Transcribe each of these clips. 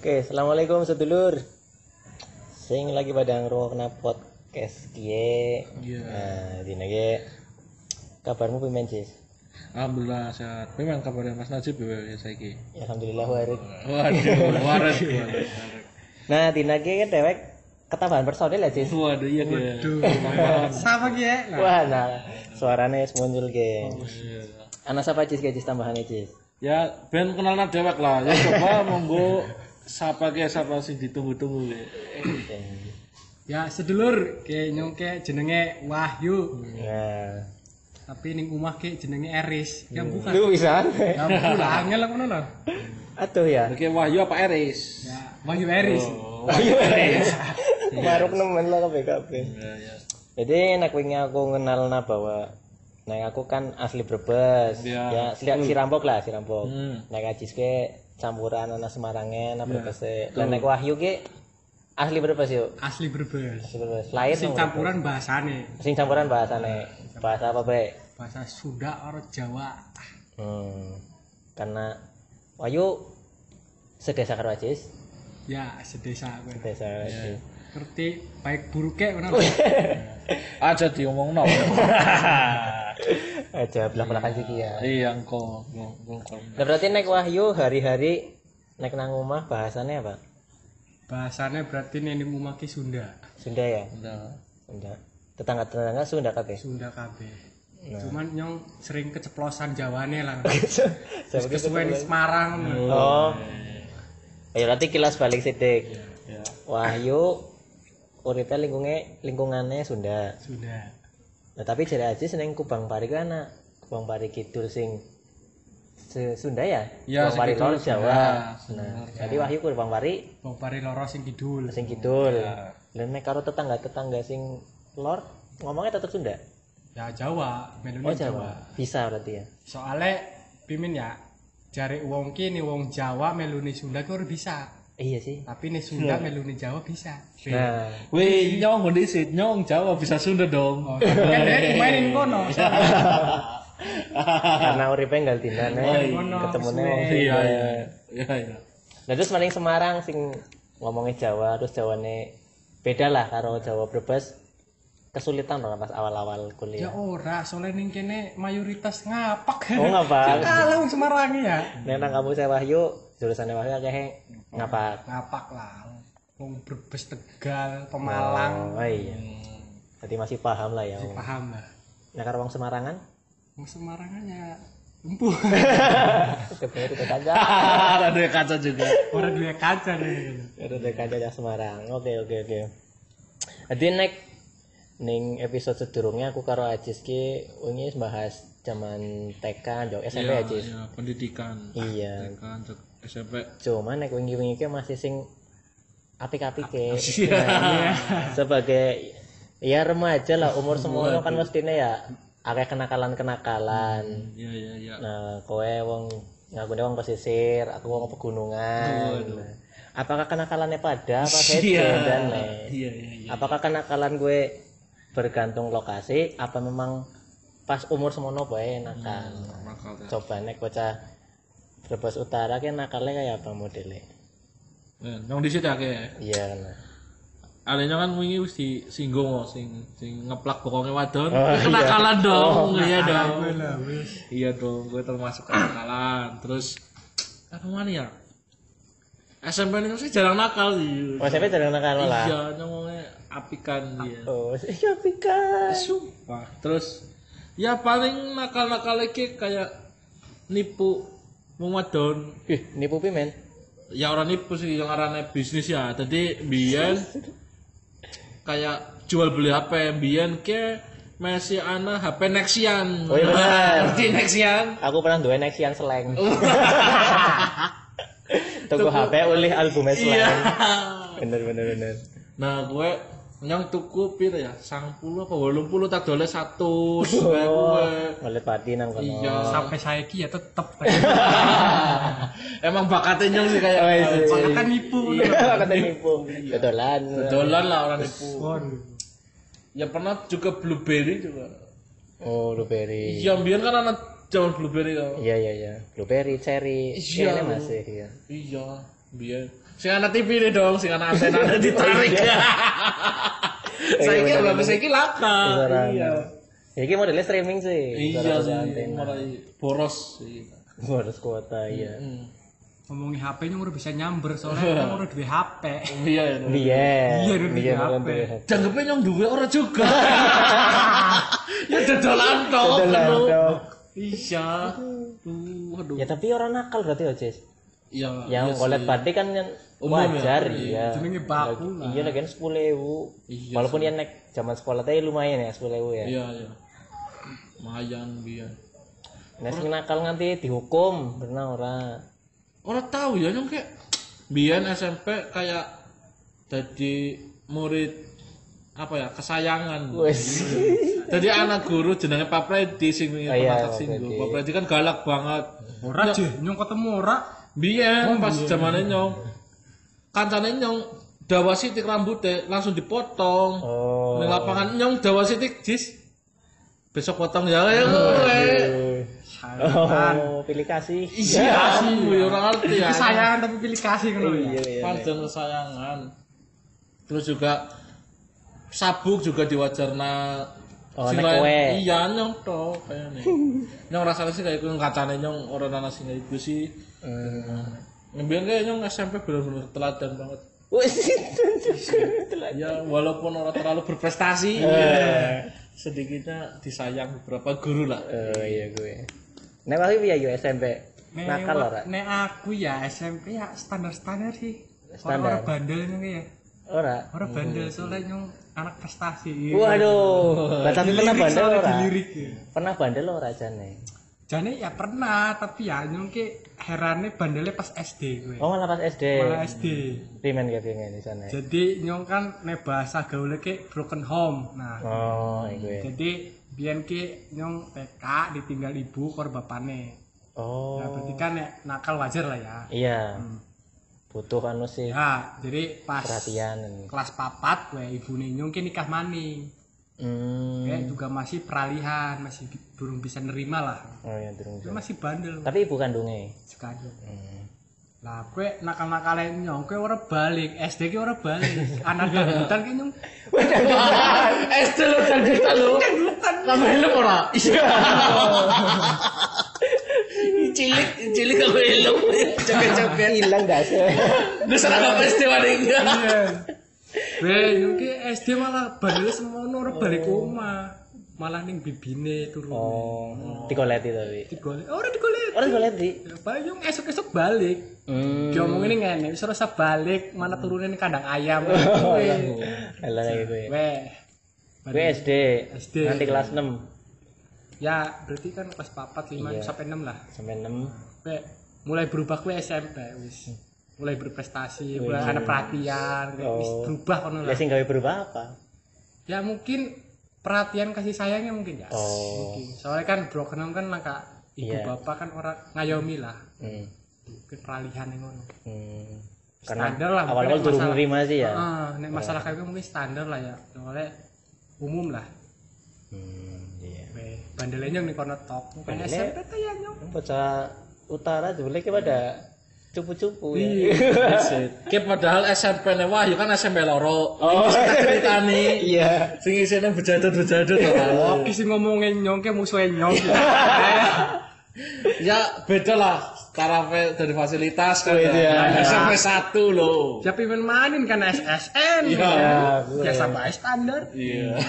Oke, assalamualaikum sedulur. Sing lagi pada ngrungokna podcast kiye. Iya. Nah, dina ge kabarmu pimen, Cis? Alhamdulillah sehat. Memang kabarnya Mas Najib ya saiki. Ya, alhamdulillah warik. Waduh, waras. Nah, dina ge dewek ketambahan personil ya, Cis? Waduh, iya ge. Sama ki ya. Wah, nah suarane wis muncul ge. Iya. Ana sapa Cis ge Cis tambahannya, Cis? Ya, ben kenalna dewek lah. Ya coba monggo sapa sing ditunggu-tunggu ge. Ya sedulur ke nyongke jenenge Wahyu. Nah, Tapi ning omah ke jenenge Eris. Ya bukan. lu bisa. Ya bukan angel ngono lho. Atuh ya. Oke, Wahyu apa Eris? Ya Wahyu Eris. Ayo, Eris. Maruk nemen lah kabeh-kabeh. Ya, ya. Jadi nek wingi aku ngenalna bahwa nek aku kan asli Brebes. Ya. Ya, si Rampok lah, si Rampok. Hmm. Nek Ajis ke campuran ana Semarangen, apa Brebes. Lan nek Wahyu ke asli Brebes yuk. Asli Brebes. Asli Brebes. Lahir Sing nang Brebes. campuran bahasane. Sing campuran bahasane. Bahasa apa, Bre? Bahasa Sunda karo Jawa. Karena Wahyu sedesa karo Ajis. Ya sedesa kowe. Sedesa karo Ajis. Ngerti baik buruknya ngono. Aja diomongno. Aja belak-belakan siki ya. Iya, engko. Nah, berarti nek Wahyu hari-hari nek nang omah bahasane apa? Bahasane berarti ning omah ki Sunda. Sunda ya? Udah. Sunda. Tetangga-tetangga Sunda kabeh. Sunda kabeh. Nah. Cuman nyong sering keceplosan Jawane lah. Saya Terus kesuwen di Semarang. Oh. Ya berarti kilas balik sidik. Ya. Wahyu uripe lingkungannya Sunda. Sunda. Nah, tapi jare aja seneng Kubang Pari ku ana. Kubang Pari Kidul sing Sunda ya? Ya, Kubang Pari sing kidul Lor Jawa. Sunda. Nah, jadi Wahyu Kubang Pari Bang Pari loro sing kidul. sing kidul. Lah nek karo tetangga-tetangga sing lor ngomongnya tetep Sunda. Ya Jawa, melune Oh, Jawa. Jawa. Bisa berarti ya. Soale pimin ya, jare wong ki ni wong Jawa melune Sunda ku ora bisa. Iya sih. Tapi nih Sunda melune Jawa bisa. Nah, Wih, nyong kondisi, nyong Jawa bisa Sunda dong. Oh, kan dia mainin kono. karena uripe nggal dinane ketemune wong Iya, Sunda. iya. Iya, iya. Nah, terus maling Semarang sing ngomongnya Jawa terus Jawane beda lah karo Jawa Brebes. Kesulitan dong pas awal-awal Ya kuliah. ora, soalnya ning kene mayoritas ngapak. Oh, ngapak. Kalah wong Semarang ya. Nek nang kampus Wahyu, jurusannya Wahyu akeh ngapak. Ngapak lah. Wong Brebes, Tegal, Pemalang. Oh iya. Berarti masih paham lah ya. Masih paham lah. Nah, karo wong Semarangan? Wong Semarangannya empuh. Kebener itu kaca. Ada kaca juga. Ora duwe kaca nih. Ada kaca ya Semarang. Oke. Jadi ning episode sedurungnya aku karo Ajis ki wingi bahas zaman TK, jauh SMP Iya, Ajis. iya, pendidikan. Iya. Kan SMP. Cuman nek wingi-wingi ki masih sing apik-apike. Iya. Sebagai ya remaja lah umur semono kan mestine ya akeh kenakalan-kenakalan. Iya. Nah, kowe wong ngakune wong pesisir, aku wong pegunungan. Nah, apakah kenakalannya pada apa beda dan Iya. apakah kenakalan gue bergantung lokasi apa memang pas umur semono bae nakal? Nakal ya. Coba nek bocah Brebes Utara ki nakalnya kayak apa modelnya? Yang di situ akeh. Iya nah. Alenya kan wingi wis disinggung sing ngeplak bokongnya wadon. Oh, iya. Kenakalan dong. Oh, Iya dong. Lah wis. Iya dong, gue termasuk kenakalan. Terus apa mana ya? SMP ini sih jarang nakal sih. Oh, SMP jarang nakal lah. Iya, ngomongnya apikan dia. Oh, iya pika. Sumpah. Terus ya paling nakal-nakal lagi kayak nipu wong wadon. Nipu pimen? Ya orang nipu sih yang arane bisnis ya. Jadi biyen kayak jual beli HP biyen ke masih ana HP Nexian. Oh iya benar. Ngerti Nexian? Aku pernah duwe Nexian Slang. Tuku HP ulih albumnya Slang. Iya. Bener. Nah, gue yang tuku piro ya? 90 apa 80 tak dole 100 gue. Ngolet pati nang kono. Iya. Sampai saiki ya tetep. Emang bakatnya nyong sih kayak Oh, iya. Bakatan nipu. Iya, kata nipu. Betulan. dolan lah orang nipu. Waduh. Ya pernah juga Blueberry juga. Oh, blueberry. Iya, biar kan anak zaman Blueberry ya. Iya. Blueberry, cherry. Iya. Ini masih ya. Iya. Biyen. Sing ana TV nih dong, sing ana antena ditarik. Saiki lho, saiki laka. Iya. Ya iki modelnya streaming sih. Iya sih, mulai boros sih. Boros kuota iya. Ngomongin HP nya udah bisa nyamber soalnya kan udah duwe HP. Iya ya. Iya, udah duwe HP. Janggepe nyong duwe ora juga. Ya dodolan tok. Iya. Aduh. Ya tapi orang nakal berarti ya, Cis. Iya. Yang golek batik kan yang wajar ya. Jenenge baku lah. Iya lagi 10.000. Walaupun dia naik zaman sekolah tadi lumayan ya 10.000 ya. Iya, iya. Lumayan biyen. Nek sing nakal nganti dihukum, pernah ora? Ora tahu ya nyong kayak biyen SMP kayak jadi murid apa ya kesayangan. Wes. Jadi anak guru jenenge Pak Predi sing pernah tak singgung. Pak Predi kan galak banget. Ora je, nyong ketemu ora. Biyen pas zamane nyong kancane nyong dawa sitik rambutnya langsung dipotong. Oh. Ning lapangan nyong dawa sitik jis. Besok potong ya kowe. Oh, pilih kasih. Iya, aku ora ngerti ya. Kesayangan tapi pilih kasih ngono ya. Iya. Pancen kesayangan. Terus juga sabuk juga diwajarna. Oh, nek kowe. Iya nyong to kayane. Nyong rasane sih kayak kuwi kacane nyong ora ana sing iku sih. Ngembian kayak nyong SMP bener-bener teladan banget. Wes. Ya walaupun orang terlalu berprestasi, sedikitnya disayang beberapa guru lah. Oh iya gue. Nek wae piye yo SMP? Nakal ora? Nek aku ya SMP ya standar-standar sih. Standar. Ora bandel nyong ya. Ora. Ora bandel soalnya nyong anak prestasi. Waduh. Lah tapi pernah bandel ora? Dilirik. Pernah bandel ora jane? Jane ya pernah, tapi ya nyong ki herane bandelnya pas SD gue. Oh malah pas SD. Malah SD. Pimen ke pimen di sana. Jadi nyong kan nek bahasa gaule ki broken home. Nah, Oh, iku. jadi biyen ki nyong TK ditinggal ibu karo bapane. Oh. Nah, berarti kan nek nakal wajar lah ya. Iya. Butuh anu sih Ya, jadi pas perhatian. kelas 4 gue ibune nyong ki nikah maning. Kayak juga masih peralihan, masih belum bisa nerima lah. Oh iya durung. Dia masih bandel. Tapi ibu kandunge. Sekali. Lah kowe nakal-nakale nyong kowe ora balik, SD ki ora balik. Anak dangdutan ki nyong. SD lo dangdutan lo. Kamu helm ora? Iya. Cilik kamu helm. Cepet-cepet Hilang dah sih. Wis ora apa SD waring. Nyong ki SD malah bandel semono ora balik omah. Malah ning bibine turun. Oh, digoleti tapi. Digolek. Ora digolek. Ora digoleti. Bayung esuk-esuk balik. Diomongin ngene, wis ora usah balik, mana turunin kandang ayam. Alah iku. Weh. Gue SD. SD. Nanti kelas 6 Ya, berarti kan kelas 4, 5 sampai 6 lah. sampai 6. Weh, mulai berubah kowe SMP wis. Mulai berprestasi, mulai ada perhatian, wis berubah kono Ya lah. sing gawe berubah apa? Ya mungkin perhatian kasih sayangnya mungkin ya. Oh. Mungkin. Soalnya kan broken home kan maka ibu Iya. bapak kan orang ngayomi lah. Hmm. Mungkin peralihan yang ngono. Karena Standar lah, awal-awal mungkin durung masalah- nerima sih ya. Nek masalah kayak gitu mungkin standar lah ya. Soalnya umum lah. Iya. Weh, bandelnya nih kono top. Mungkin Bandele- SMP tuh ya nyong. Bocah utara jebule ki pada cupu-cupu ya. Ki padahal SMP ne Wahyu kan SMP loro. Oh, ceritane. Iya. Sing isine bejadut-bejadut to kan. Oh, kisi ngomongin nyong ke musuhnya nyong. Ya beda lah tarafe dari fasilitas kan. Beda. Ya. SMP 1 loh. Siapa yang mainin kan SSN. Iya. Biasa bae standar. Iya.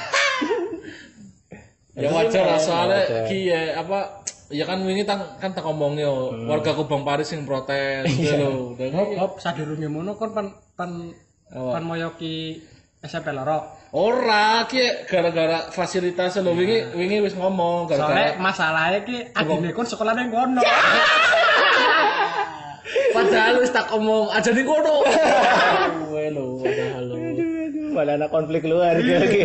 Ya wajar lah soalnya Wajar. ki ya apa ya kan wingi kan tak ngomong yo warga Kubang Paris sing protes gitu lho. Hop, sadurunge mono kon pan moyoki SMP loro. Ora ki gara-gara fasilitas lho wingi wis ngomong Soalnya gara-gara masalahnya ki adine kon sekolahnya ngono. padahal wis tak omong aja ning kono. Kowe lho padahal lho. Malah ada konflik keluarga ki.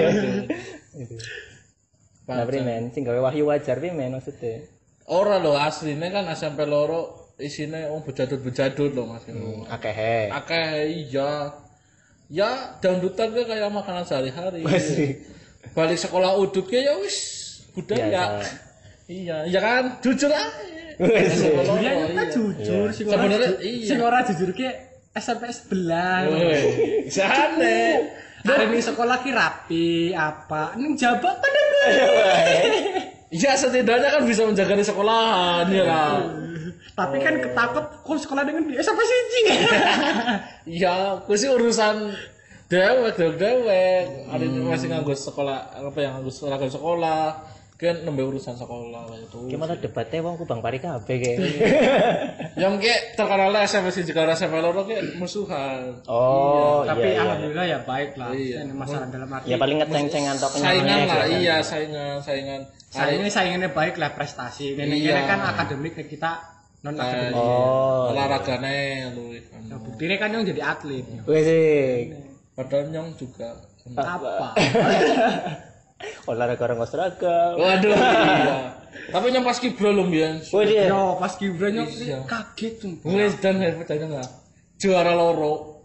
Nah, men, sing gawe Wahyu wajar men maksudnya. Ora lho asline kan SMP loro isine bejadut-bejadut lho Mas. Akeh. Akeh iya. Ya dangdutan ke kayak makanan sehari-hari. Masih. Balik sekolah udut ya wis budaya. Biasa. Iya, ya kan jujur aja. Dia kan jujur sing ora Sebenarnya iya. sing ora jujur ki SMP sebelah. Woi, jane. Dari ini sekolah ki rapi apa? Ning jabat kan ada. Ya setidaknya kan bisa menjaga di sekolahan ya lah. Tapi kan ketakut kok sekolah dengan dia sampai siji. Ya, aku sih urusan dewek. Ada masih nganggo sekolah apa yang nganggo sekolah. Kan nembe urusan sekolah itu. Gimana debatnya wong Kubang Pari kabeh ge. Yang kayak terkenal SMP sih jika SMP loro kayak musuhan. Oh, Tapi iya. alhamdulillah ya baik lah. Iya. Ini masalah dalam arti. Ya paling ngeceng-cengan tok Saingan lah, kan. iya saingan. Saingannya baik lah prestasi. Ini Iya. kan akademik kita non akademik. Oh. Olahragane lu. Nah, buktinya kan yang jadi atlet. Wes sih. Padahal nyong juga. Apa? Olahraga orang seragam. Waduh, iya. Tapi nyong pas kibra lho mbiyen. Wih dia. Yo pas Gibran nyok Iya. kaget tuh. Wis dan percaya enggak? Juara loro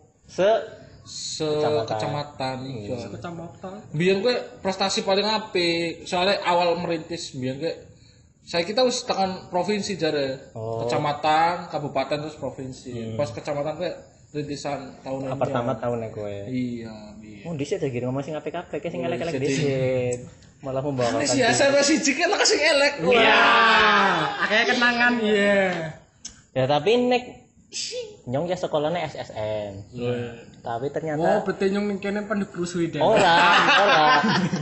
kecamatan iya. Kecamatan. Biyen kowe prestasi paling apik. Soalnya awal merintis biyen kowe saya kita wis tekan provinsi jare. Oh. Kecamatan, kabupaten terus provinsi. Pas kecamatan kowe rintisan tahun ini. pertama tahunnya gue. Iya, biyen. Oh, dhisik lagi ngomong sing apik-apik sing elek-elek dhisik. Malah membawakan. Wis ya SMP siji kan lah sing elek. Iya. Akhirnya kenangan iya. Ya tapi nek nyong ya sekolahnya SSN. Tapi Oh, ternyata berarti nyong ning kene pendek rusuh deh. ora.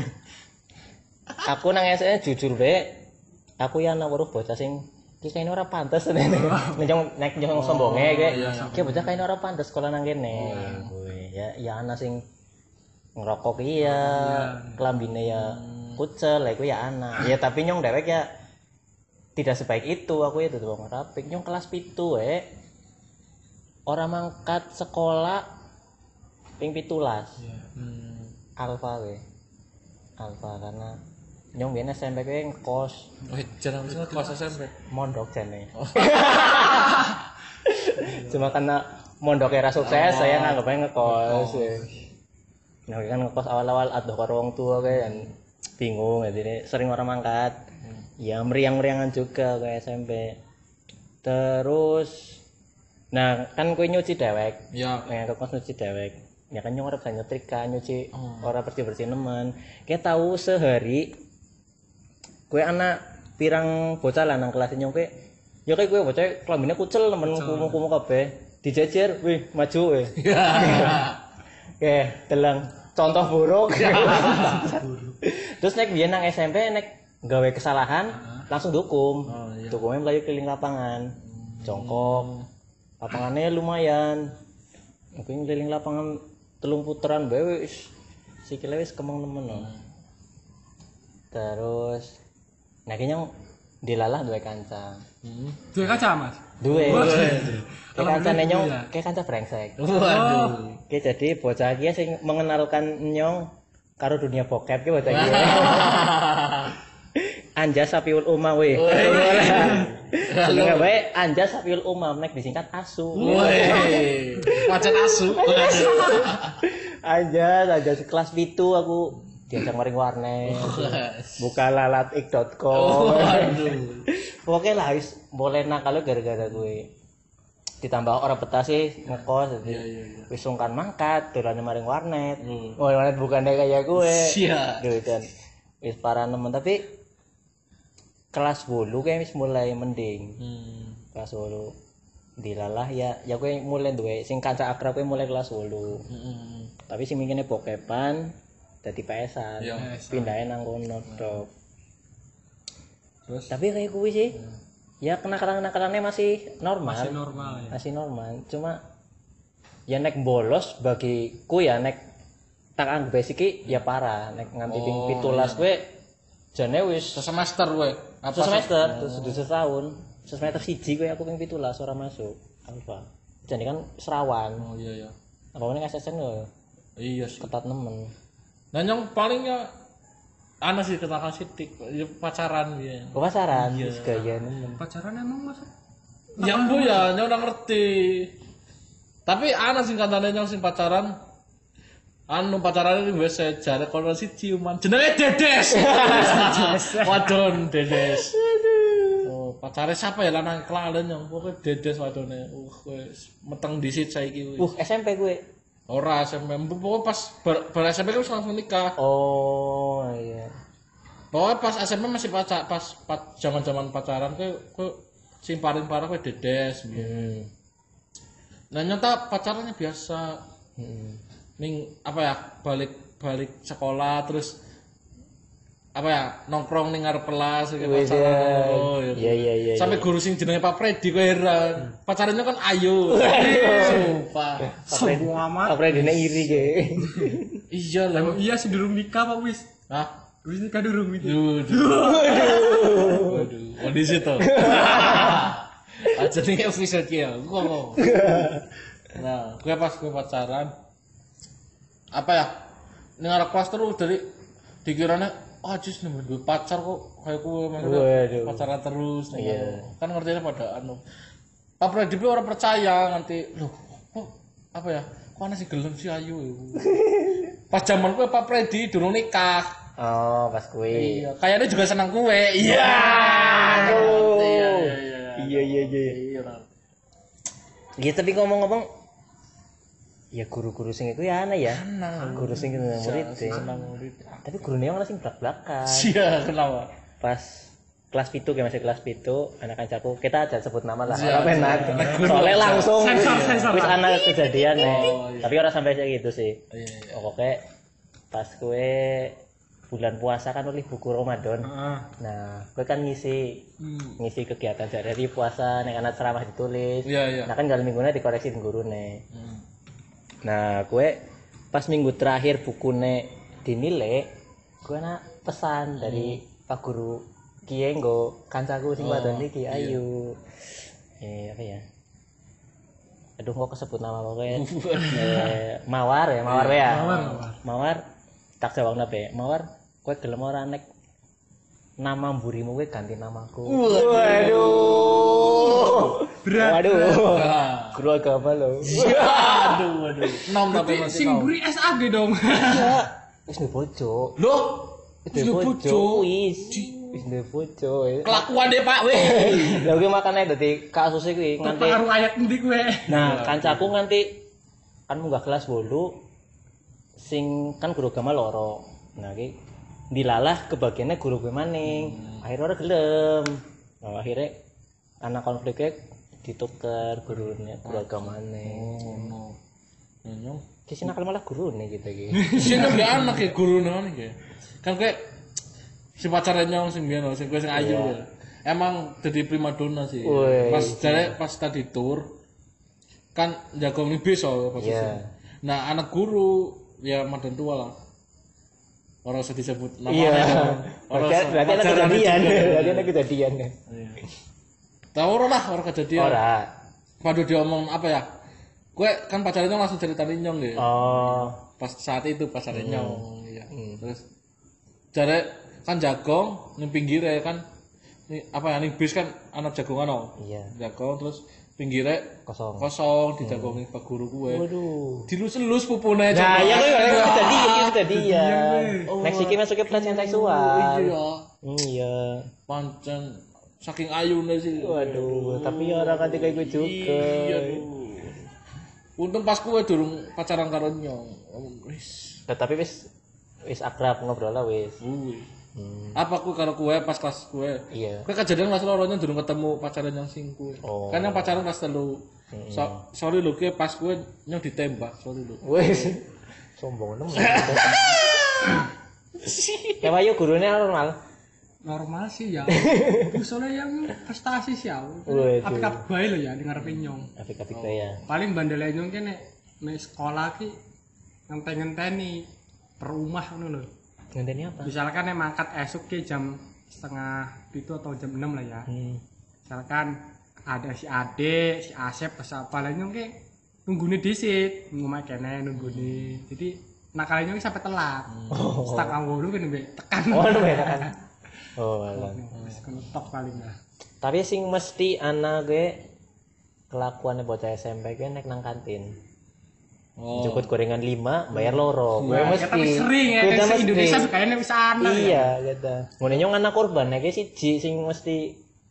Aku nang SSN jujur be. Aku ya anak weruh bocah sing iki kayaknya ora pantes nek nyong sombonge kayak bocah kayaknya ora pantes sekolah nang kene. Ya ana sing ngerokok iya, kelambine ya kucel, iku ya ana. Ya tapi nyong dewek ya tidak sebaik itu, aku itu tuh wong rapik. Nyong kelas 7 orang mangkat sekolah ping 17. Alfa we. Alfa karena nyong biyen SMP kuwi ngekos Wih, jangan lupa kelas SMP. mondok jane. Cuma karena mondok era sukses saya nganggapnya ngekos. Nah, kan ngekos awal-awal aduh karo wong tua kan bingung jadi sering orang mangkat. Ya meriang-meriangan juga kayak SMP. Terus nah kan kowe nyuci dewek. Ya. Nang ngekos nyuci dewek. Ya kan nyong ora bisa nyetrika, nyuci ora bersih-bersih nemen. Kayak tahu sehari kowe anak pirang bocah lah nang kelas nyong kowe. Ya kayak kowe bocah kelambine kucel nemen kumu-kumu kabeh. Dijejer, wih maju weh. Oke, telang contoh buruk. Terus nek biyen nang SMP nek gawe kesalahan langsung dihukum. Hukumnya melayu keliling lapangan. Jongkok. Lapangannya lumayan. Aku keliling lapangan 3 puteran bae wis sikile wis kemeng nemen. Terus nek nyong dilalah duwe kanca. Duwe kaca, Mas. Duwe. Kayak kancane nyong, kayak kanca brengsek. Waduh. Oke, jadi bocah iki sing mengenalkan nyong karo dunia bokep ki bocah iki. Anja Sapiul Umam we. Jenenge wae Anja Sapiul Umam nek disingkat ASU. Woi. Macan asu. Anja kelas 7 aku diajak maring warnet. Buka lalatik.com. Waduh. Oke lah wis boleh nakal gara-gara gue. Ditambah orang betah sih ngekos jadi wis sungkan mangkat dolane maring warnet. Oh warnet bukannya kayak gue. Siap. Gitu kan. Wis parah nemen tapi kelas 10 kayak wis mulai mending. Kelas 10 dilalah ya gue mulai duwe sing kanca akrab gue mulai kelas 10. Tapi sing mikirnya bokepan dadi PS-an. Pindahin nang kono tok. Terus Tapi kayak gue sih ya kenakalan-kenakalannya masih normal. Masih normal ya. Masih normal. Cuma ya nek bolos bagiku ya nek tak anggap iki ya parah nek nganti ping 17 kowe jane wis semester we. apa semester terus setahun semester 1 kowe aku ping 17 ora masuk alfa. Jadi kan serawan. Oh iya. Apa meneh SSN yo Iya sih. ketat nemen. Nah yang palingnya ana sih kenakalan sitik pacaran ya. Kok pasaran wis gaya nemen. Pacaran emang Mas? Nyambu ya, nyong udah ngerti. Tapi ana sing katane nyong sing pacaran. Anu pacarane wis jare kono siji ciuman. Jenenge Dedes. Wadon Dedes. Oh, pacare siapa ya lanang kelalen yang pokoke dedes wadone. Wis meteng disit saiki wis. SMP gue. Ora SMP pokoke pas bar SMP wis langsung nikah. Oh iya. Pokoknya pas SMP masih pas zaman-zaman pacaran kowe sing paling parah kowe dedes. Nah nyata pacarannya biasa. Ning apa ya balik sekolah terus apa ya nongkrong ning ngarep kelas kayak pacaran. Oh iya. Sampai guru sing jenenge Pak Freddy kowe heran. Pacarannya kan ayo. Sumpah. Semua amat. Apa dene iri ge. Iya lah. Iya sih durung nikah Pak wis. Hah? Wis nikah durung itu. Waduh. Oh di situ. Aja nih official kill. Ngomong. Nah, gue pacaran apa ya? Ning arep kelas terus dari dikirane jis nemen gue pacar kok kayak gue maksudnya pacaran terus kan ngertinya pada Pak Freddy orang percaya nanti loh kok apa ya kok ana sih gelem sih ayu pas zaman gue Pak Freddy durung nikah pas kue iya kayaknya juga senang kue iya iya tapi ngomong-ngomong ya guru-guru sing iku ya aneh ya. Guru sing murid tapi gurune yang sing blak-blakan. Iya, kenapa? Pas kelas 7 kayak masih kelas 7, anak kancaku kita aja sebut nama lah. Ora penak. Soalnya langsung wis ana kejadian Tapi ora sampai kayak gitu sih. Pokoknya pas kue bulan puasa kan oleh buku Ramadan. Nah, gue kan ngisi kegiatan dari puasa nek ana ceramah ditulis. Nah kan dalam minggunya dikoreksi gurune. Nah, gue pas minggu terakhir bukune dinilai, gue nak pesan dari Pak Guru Kiye nggo kancaku sing wadon iki ayu. Apa ya? Aduh kok kesebut nama pokoknya. Mawar ya. Mawar. Tak jawabna be. Mawar, kowe gelem ora nek nama mburimu kowe ganti namaku. Waduh. Berat. Waduh. Guru agama lo. Aduh. Nom tapi masih sing mburi SAG dong. Wis ndek bojo. Loh, wis ndek bojo. Wis ndek bojo. Kelakuan deh Pak weh. Lah kuwi makane dadi kasus iki nganti karo ayat endi kowe. Nah, kancaku nganti kan munggah kelas 8 sing kan guru agama loro. Nah, iki dilalah kebagiannya guru gue maning. Akhirnya ora gelem. Nah, akhirnya anak konfliknya ditukar gurunya guru agamane. Nyong. Kisah nakal malah gurune gitu iki. Sing gak anak ya gurune iki. Kan kayak si pacarnya nyong sing biyen sing gue sing ayu. Emang jadi primadona sih. Pas tadi tur kan jago bis posisi. Nah, anak guru ya madan tua lah. Orang usah disebut namanya. Berarti ada kejadian. Tahu orang kejadian. Ora. Waduh diomong apa ya? Gue kan pacarnya langsung ceritain nyong deh. Pas saat itu pacarnya nyong. Iya. Terus jare kan jagong ning pinggire kan apa ya ning bis kan anak jagongan Iya. Jagong terus pinggirnya kosong dijagongi Pak Guru gue. Waduh. Dilus-elus pupune. Nah, ya kejadian. Next iki masuknya pelecehan seksual. Iya. Pancen saking ayune sih. Waduh, tapi ya orang kanti kayak gue juga. Iya. Untung pas gue durung pacaran karo nyong. Wis. Tapi wis akrab ngobrol lah wis. Apa ku karo kue pas kelas kue? Iya. Kue kejadian kelas loronya durung ketemu pacaran yang sing kue. Kan yang pacaran kelas 3. Sorry lho kue pas kue nyong ditembak, sorry lho. Wes. Sombong nemen. Ya wayu gurune Normal sih ya. Soalnya yang prestasi sih ya. Apik bae lho ya ngarepe nyong. Apik-apik ya. Paling bandel nyong ki nek sekolah ki ngenteni per rumah ngono lho. Ngenteni apa? Misalkan nek mangkat esuk ki jam 6:30 atau jam 6 lah ya. Misalkan ada si Ade, si Asep, siapa lah nyong ki nunggune dhisik, ngomah kene nunggune. Jadi nakalnya nyong sampai telat. Stuck anggono kan tekan. Tekan. Alah. Wis ketok paling lah. Tapi sing mesti anak gue kelakuannya bocah SMP gue nek nang kantin. Jukut gorengan 5, bayar loro. Gue mesti. Tapi sering ya, kan Indonesia kayaknya bisa ana. Iya, gitu. Ngene nyong anak korban nek siji sing mesti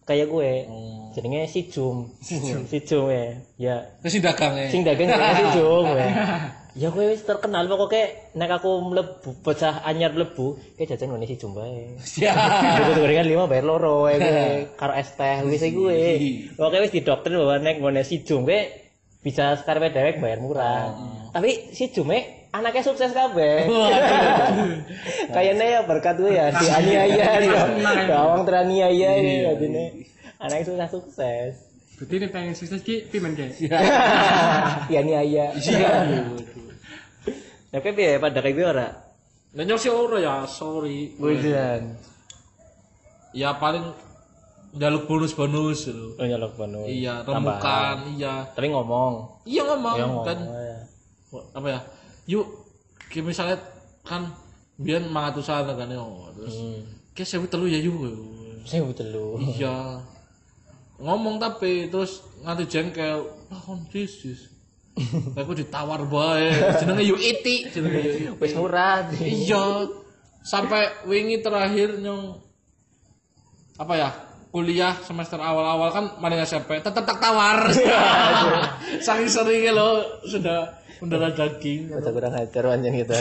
kayak gue. Jenenge si Jum ya. Ya Sing dagang sing dagang jenenge si Jum ya. Ya gue wis terkenal pokoknya nek aku mlebu bocah anyar mlebu kayak jajan ngene si Jum bae. Siap. Gorengan 5 bayar loro ya gue karo es teh wis gue. Pokoknya wis didoktrin bahwa nek ngene si Jum gue bisa sekarepe dhewek bayar murah. Tapi si Jume anaknya sukses kabeh. Kayaknya ya berkat gue ya dianiaya ya. Gawang teraniaya ini jadinya. Anaknya sukses. Berarti ini pengen sukses ki pimen ki. Dianiaya. Iya. Tapi piye pada kayak piye ora? Nanya sih ora ya, sorry. Bukan. Ya paling jaluk bonus-bonus lho. Oh nyalok bonus. Iya, remukan, iya. Tapi ngomong. Iya ngomong Ya kan. ya. Apa ya? Yuk, kayak misalnya kan biar mangatusan kan ya. Terus kayak saya telu ya yuk. Saya betul lu. Iya. Ngomong tapi terus nganti jengkel. Ah, kon dis. Aku ditawar bae. Jenenge yuk iti, jenenge yuk. Wis murah. Iya. Sampai wingi terakhir nyong apa ya? Kuliah semester awal-awal kan maring SMP tetep tak tawar. Saking seringnya lo sudah mendarah daging. Masa kurang ajar anjen gitu.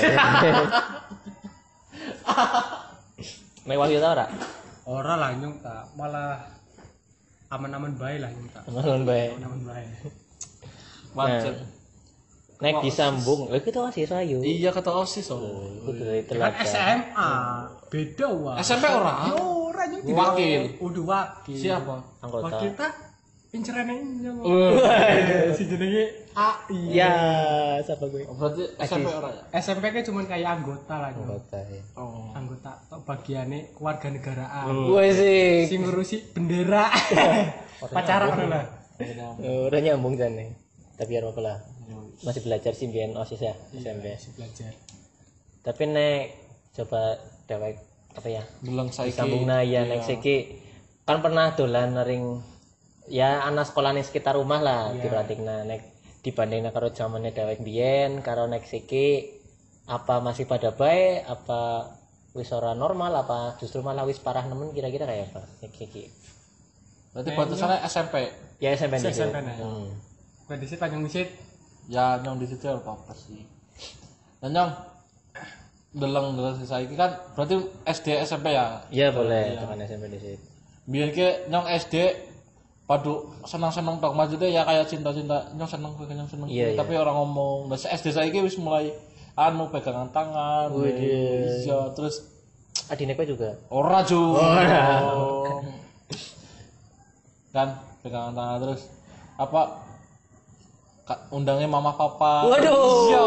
Mewah ya ora? Ora lah nyong tak malah aman-aman bae lah nyong tak. Aman bae. Aman bae. Wajar. Naik disambung. Lha kita masih rayu. Iya kata OSIS oh. Kudu dari Kan telat. SMA beda wah. SMP ora? Ora nyong Wakil. Udah wakil. Siapa? Anggota. Wakil tak incerane nyong. Waduh. Si jenenge AI. Ya, siapa gue? Berarti SMP ora ya? SMP ke cuman kayak anggota lah nyong. Anggota ya. Oh. Anggota tok bagiane kewarganegaraan. Gue sih. Sing ngurusi bendera. Pacaran ora lah. Udah nyambung jane. Tapi ya apa lah. Masih belajar sih biyen OSIS ya SMP. Masih belajar. Tapi nek coba dewek apa ya? Bilang saiki. Sambung ya nek siki kan pernah dolan ring ya anak sekolah ning sekitar rumah lah diperhatikna nek dibandingna karo zamane dewek biyen karo nek siki apa masih pada baik apa wis ora normal apa justru malah wis parah nemen kira-kira kayak apa nek siki. Berarti batasannya SMP. Ya SMP nih. SMP nah. Berarti sih panjang wisit. Ya nyong di situ apa sih. Dan nyong deleng saiki kan berarti SD SMP ya. Iya boleh tekan SMP di situ. Biar ke nyong SD padu senang-senang tok maksudnya ya kayak cinta-cinta nyong seneng kowe nyong seneng Iya, kowe. Tapi orang ngomong nah SD saiki wis mulai anu pegangan tangan. Widih. Iya terus Adine kowe juga. ora ju. Kan pegangan tangan terus apa undangnya mama papa. Waduh. Iya.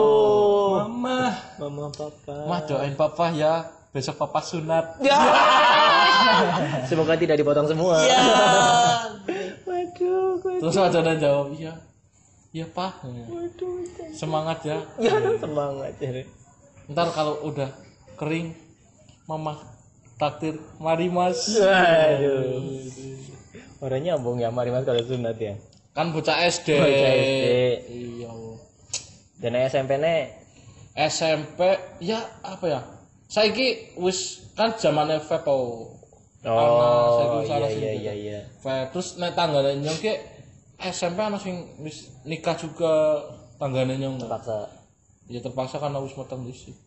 Mama papa. Mah doain papa ya besok papa sunat. Ya. Semoga tidak dipotong semua. Iya. Waduh, Terus ada yang jawab iya. Iya pak. waduh. Semangat ya. Ya semangat ya. Ntar kalau udah kering mama takdir mari mas. Waduh. Orangnya nyambung ya mari Mas kalau sunat ya. Kan bocah SD. Bocah SD. Iya. Dan SMP ne SMP ya apa ya? Saiki wis kan zamane vape oh. Oh iya. Vape terus nek tanggane nyong ki SMP ana sing wis nikah juga tanggane nyong. Terpaksa. Ya terpaksa karena wis meteng disi.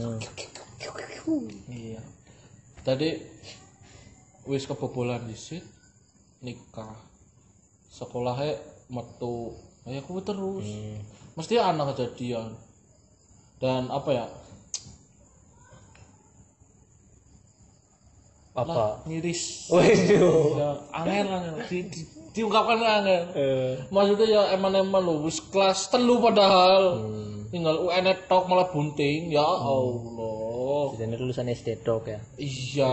Iya. Tadi wis kebobolan disi nikah. Sekolahnya metu ya aku terus mesti anak kejadian dan apa ya Apa? ngiris Waduh. ya angel diungkapkan angel maksudnya ya eman lo wis kelas 3 padahal tinggal UN tok malah bunting ya Allah Jadi lulusan SD dok ya. iya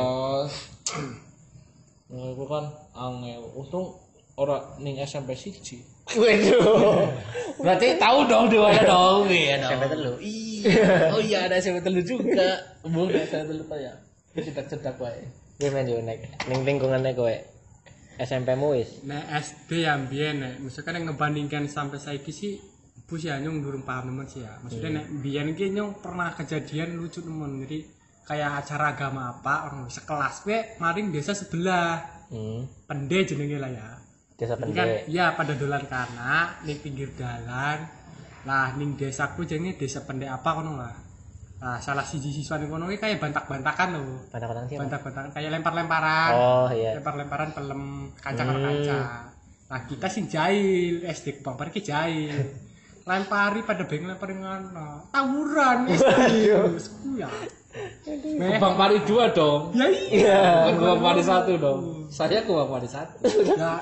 nah, itu kan angel untung ora ning SMP siji. Waduh. Berarti tahu dong di mana dong ya dong. SMP telu. Iya. Oh iya ada SMP telu juga. Bung SMP telu ya. Cedak-cedak wae. Gue main yo nek ning lingkungannya kowe. SMP-mu wis. Nek SD ya mbiyen nek misalkan yang ngebandingkan sampai saiki sih bus ya nyong durung paham nemen sih ya. Maksudnya nek mbiyen ki nyong pernah kejadian lucu nemen. Jadi kayak acara agama apa orang sekelas gue maring desa sebelah. Pende jenenge lah ya. Desa Jadi kan Pende. ya pada dolan kana ning pinggir dalan. Lah ning desaku jenenge desa Pende apa kono lah. Nah, salah siji siswa ning kono iki kayak bantak-bantakan lho. Bantak-bantakan siapa? Bantak-bantakan kayak lempar-lemparan. Oh iya. Lempar-lemparan pelem kanca karo kanca. Nah, kita sing jahil, SD Bang Parki jahil. Lempari pada beng lemparin ngono. Tawuran SD. Ya. Bang Pari 2 dong. Ya iya. Bukan Bang Pari 1 dong. Saya ke Bang Pari 1. Ya.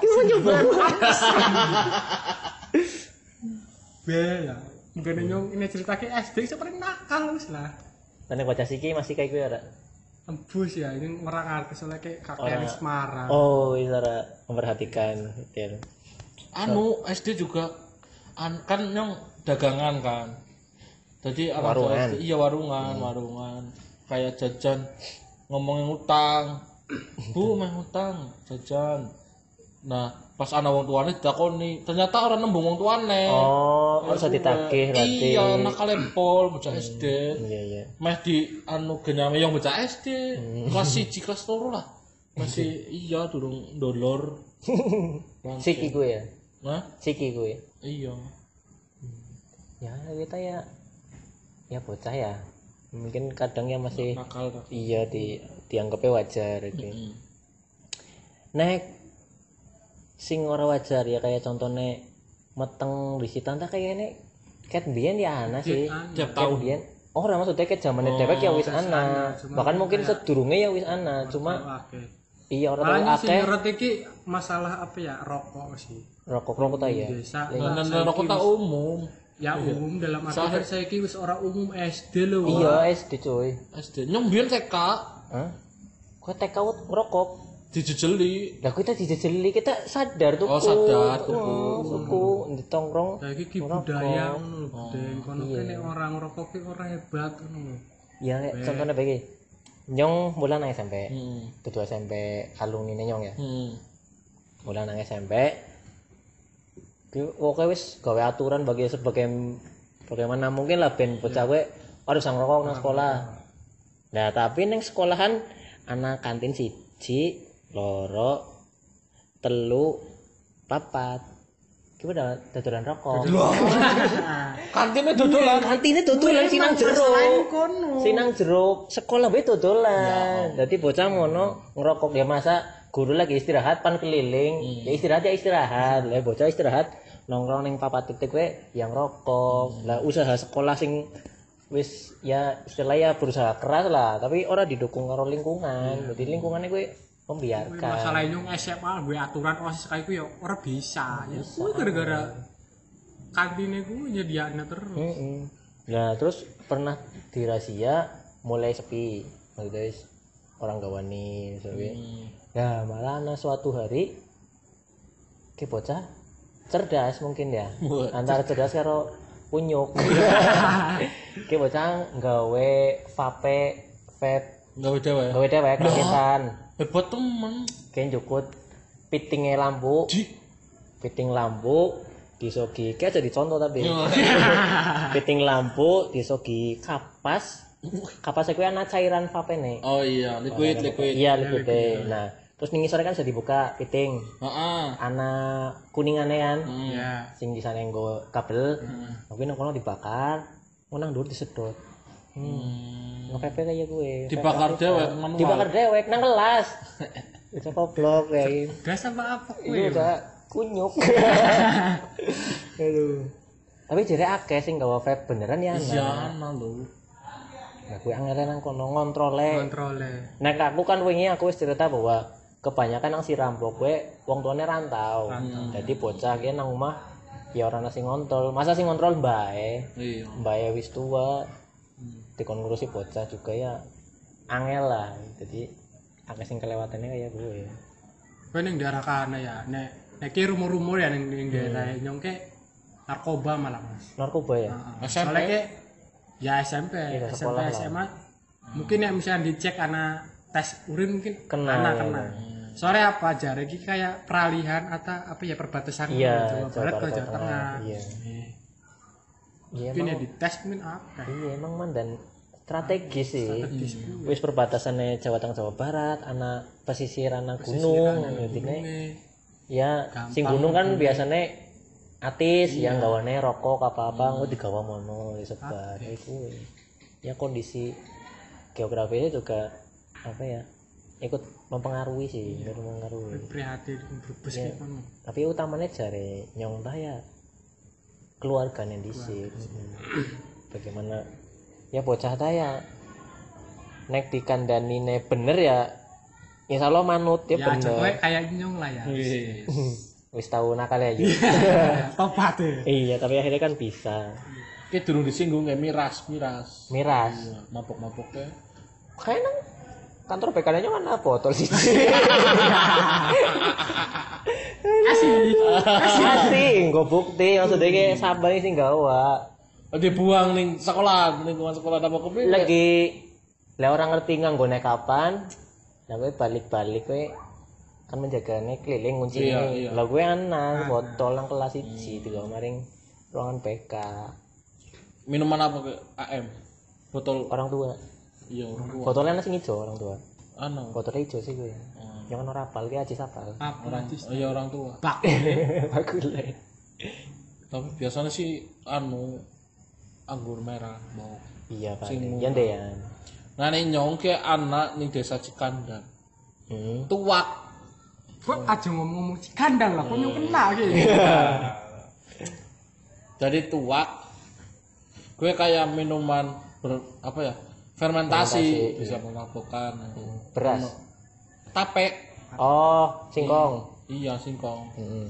Bela. Mungkin nyong ini ceritake SD seperti nakal wis lah. Nek bocah siki masih kayak gue ora? Tembus ya, ini orang ngerti soalnya kayak kakek Semarang. Oh, iya ora memperhatikan detail. Anu SD juga kan nyong dagangan kan. Jadi orang tua Warungan. SD, iya warungan. Kayak jajan ngomongin utang. Bu, main utang, jajan. Nah, pas ana wong tuane ditakoni, ternyata orang nembung wong tuane. Oh, harus ditagih berarti. Iya, nakal pol bocah SD. Iya. Meh di anu genyame yang bocah SD. Kelas 1, kelas 3 lah. Masih iya durung dolor. Siki gue ya. Nah, Siki gue. iya. Ya, kita ya bocah ya. Mungkin kadang ya masih Nakal dah. iya dianggapnya wajar gitu. Nek sing ora wajar ya kayak contohnya meteng risitan tak kayak ini ket biyen ya ana sih. Tiap Ket tahun. biyen ora maksudnya ket zamane dewek ya wis ana. Bahkan mungkin sedurunge ya wis ana, cuma iya ora tau Makanya sih akeh nyorot iki masalah apa ya rokok sih. rokok ta ya. Desa. Dan rokok tak umum. Ya umum dalam arti Soalnya- kan saiki wis ora umum SD lho. Wak. Iya SD cuy. SD. Nyong biyen TK Hah? Kok TK ngerokok? dijejeli. Lah kita dijejeli kita sadar tuh. Oh, sadar, tuku. Tuku ditongkrong. Saiki ki ngerokok. budaya ngono lho, budaya kono iya. kene orang ngerokok ki ora hebat ngono. Ya contohnya begini. Nyong bulan nang SMP. Hmm. Dudu SMP alumni nyong ya. Hmm. Mulai nang SMP. Oke wis gawe aturan bagaimana mungkin lah ben bocah kowe harus ngerokok nang sekolah. Nah, tapi nang sekolahan ana kantin 1, 2, 3, 4. Ki udah dodolan rokok. Kantinnya dodolan. Kantine dodolan sinang jero. Sinang jero sekolah wae dodolan. Dadi bocah ngono ngerokok ya masa guru lagi istirahat pan keliling. Ya istirahat. Lah bocah istirahat nongkrong ning papat titik kowe yang rokok. Lah usaha sekolah sing wis ya istilahnya berusaha keras lah, tapi ora didukung karo lingkungan. Jadi lingkungannya kowe membiarkan. Masalah nyong SMA gue aturan OSIS kayak gue ya ora bisa. Ya kuwi gara-gara kantine gue nyediakne terus. Nah, terus pernah dirazia mulai sepi. Maksudnya orang gawani misalnya. Nah, malah ana suatu hari ke bocah cerdas mungkin ya. Antara cerdas karo kunyuk. Ke bocah gawe vape Gawe dewek. gawe dewek kagetan. Hebat temen. Kayak jukut pitingnya lampu. Piting lampu disogi kayak jadi contoh tapi. Piting lampu disogi kapas. Kapasnya kuwi ana cairan vape nih. Oh iya, liquid. Iya liquid. Nah, terus ning ngisore kan bisa dibuka piting. Heeh. Ana kuningane kan. Ya. Sing di sana nggo kabel. Tapi nang kono dibakar, nang dhuwur disedot. Ngepepe kayak gue. Dibakar dewek manual. Dibakar dewek nang kelas. Itu goblok kayak Gas apa itu kuwi? udah kunyuk. Aduh. Tapi jare akeh sing gawa vape beneran ya. Iya, ana lho. Nah, gue angel nang kono ngontrole. Kontrole. Nek aku kan wingi aku wis cerita bahwa kebanyakan nang si Rampok gue wong tuane rantau. Jadi bocah ki nang omah ya ora ana sing ngontrol. Masa sing ngontrol mbae. Iya. Mbae wis tua. Dikon ngurusi bocah juga ya angel lah. Jadi akeh sing kelewatannya kayak gue. Kowe ning daerah kana ya. Nek ki rumor-rumor ya ning daerah nyong ke narkoba malah Mas. Narkoba ya. SMP. Soalnya ke ya SMP, Iya, SMP sekolah lah. SMA. Mungkin ya misalnya dicek anak tes urin mungkin Kena, kena. Soalnya apa jare iki kayak peralihan atau apa ya perbatasan Iya, Jawa Barat ke Jawa Tengah. Iya. Iya Mungkin ya emang. dites mungkin apa? Iya emang man dan strategis sih. Wis perbatasannya Jawa Tengah Jawa Barat, ana pesisir ana gunung, intine ya sing gunung kan biasanya atis yang gawane rokok apa-apa engko digawa mono disebar iku. Ya kondisi geografisnya juga apa ya? Ikut mempengaruhi sih, mempengaruhi. Prihatin Brebes Ya, tapi utamanya jare nyong tah ya keluarganya dhisik. Bagaimana ya bocah tah ya nek dikandani bener ya insyaallah manut ya, ya bener. contohnya kayak nyong lah ya. Wis tau nakal ya. Tobat ya. Iya, tapi akhirnya kan bisa. Ki durung disinggung kayak miras. Miras. Iya, mabok-maboknya. Kayak nang kantor PKN-nya kan ada botol sih. Asih, nggo bukti maksudnya kayak sabar sih gawa. Dibuang ning sekolah, lingkungan sekolah apa kopi. Lagi lah orang ngerti nganggone kapan. Lah kowe balik-balik kowe kan menjagane keliling kunci Iya. Lah kowe ana botol nang kelas 1 digawa maring ruangan PK. Minuman apa ke AM? Botol Orang tua. iya orang tua. Botolnya nasi hijau orang tua. Anu. Botolnya hijau sih gue. Yang kan rapal dia aja sapal. Iya orang tua. Bagus lah. Tapi biasanya sih anu anggur merah mau. Iya pak. Sing Yan deh yan. Nah nih nyong ke anak nih desa Cikandan. Tuak. Kok aja ngomong-ngomong Cikandang lah, kok nyong kena gitu. Jadi tuak. Gue kayak minuman apa ya? Fermentasi bisa memabukkan. Beras. Tape. Oh, singkong. Iya singkong.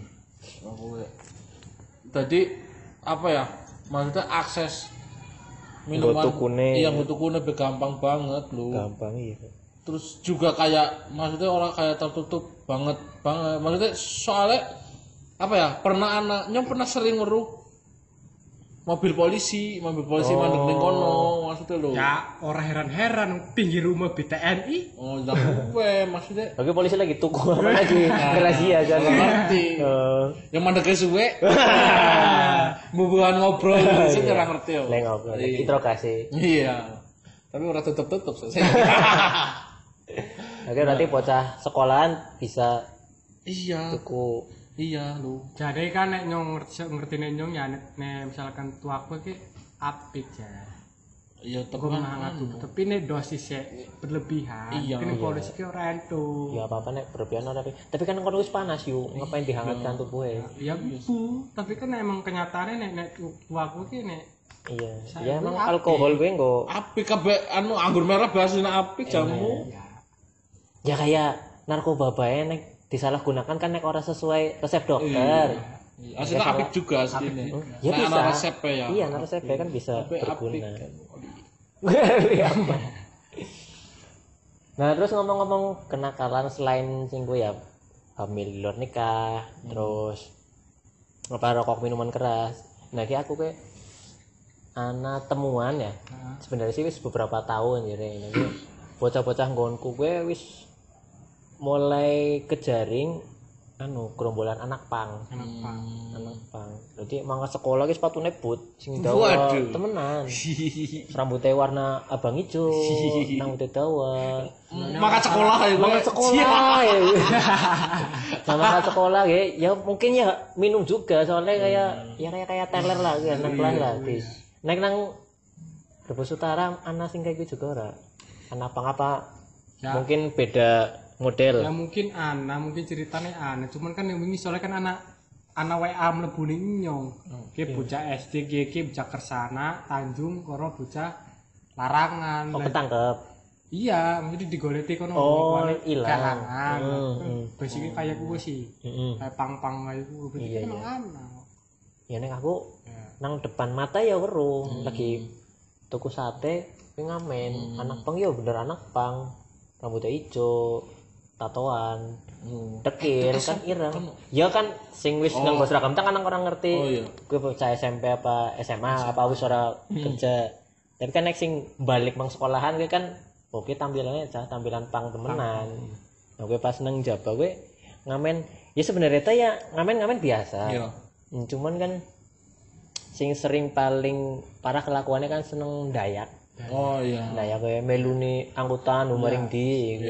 Jadi apa ya? Maksudnya akses minuman tukune. iya tukune gampang banget lu. Gampang iya. Terus juga kayak maksudnya orang kayak tertutup banget. Maksudnya soalnya apa ya? Nyong pernah sering ngeruh mobil polisi mandek ning kono maksudnya lo. Ya, orang heran-heran pinggir rumah BTNI. Oh, lah gue maksudnya Oke polisi lagi tuku apa lagi? Razia kan. ngerti. Yang mandeknya suwe. Bubuhan ngobrol sih ora ngerti yo. Leng ngobrol. Interogasi. Iya. Tapi ora tutup selesai. Oke berarti bocah sekolahan bisa Iya. tuku. Iya lu. Jadi kan nek nyong ngerti nyong ya nek misalkan tuaku iki apik ya. Iya Gue tekan. menghangat tapi nek dosisnya berlebihan. Iya, Kini iya. polisi ki ora entu. Ya apa-apa nek berlebihan ora tapi kan kono wis panas yuk ngapain dihangatkan tubuhnya. Ya bu, tapi kan emang kenyataannya nek tuaku ki nek Iya. Ya emang alkohol gue nggo Apik kabeh anu anggur merah bahasane apik jamu. ya ya kayak narkoba bae nek disalahgunakan kan nek ora sesuai resep dokter. Aslinya apik juga aslinya. Ya Nah, bisa. ana resepnya ya. Iya, ana resepnya kan bisa Tapi apik berguna. kan. Iya. Nah, terus ngomong-ngomong kenakalan selain sing gue ya hamil di luar nikah, terus apa rokok minuman keras. Nah, ki aku ke ana temuan ya. Sebenarnya sih wis beberapa tahun ya ini. Bocah-bocah nggonku gue wis mulai kejaring anu gerombolan anak pang. Anak pang. Jadi mangkat sekolah ki sepatune boot sing dawa Waduh. temenan. Rambutnya warna abang hijau, rambutnya dawa. Maka sekolah ya gue. Mangkat sekolah ya. Nah, mangkat sekolah ya mungkin ya minum juga soalnya kayak teler lah ya nang kelas lah. Nek nang Brebes Utara ana sing kayak gitu juga ora. Anak pang apa? Ya. Mungkin beda model. ya mungkin mungkin ceritanya cuman kan yang wingi soalnya kan anak WA mlebu ning nyong. Ki bocah SD ki bocah Kersana, Tanjung, karo bocah Larangan. Oh, ketangkep. Iya, mesti digoleti kono Oh, kono ilang. kalangan. Basicnya kayak gue sih. Heeh. Kayak pang-pang kayak gue berarti Iya, kan iya. anak. Ya nek aku Ya. nang depan mata ya weruh lagi tuku sate kuwi ngamen. Anak pang ya bener anak pang. Rambutnya ijo, tatoan. Dekir kan ireng. Ya kan sing wis nganggo seragam kan orang ngerti. Oh, iya. Kuwi bocah SMP apa SMA apa wis ora kerja. Tapi kan nek sing balik mang sekolahan kuwi kan oke tampilannya tampilan pang temenan. Nah, gue pas nang Jaba gue ngamen ya sebenarnya ta ya ngamen biasa. Iya. Cuman kan sing sering paling parah kelakuannya kan seneng dayak. Oh iya. Nah ya kayak meluni angkutan maring di.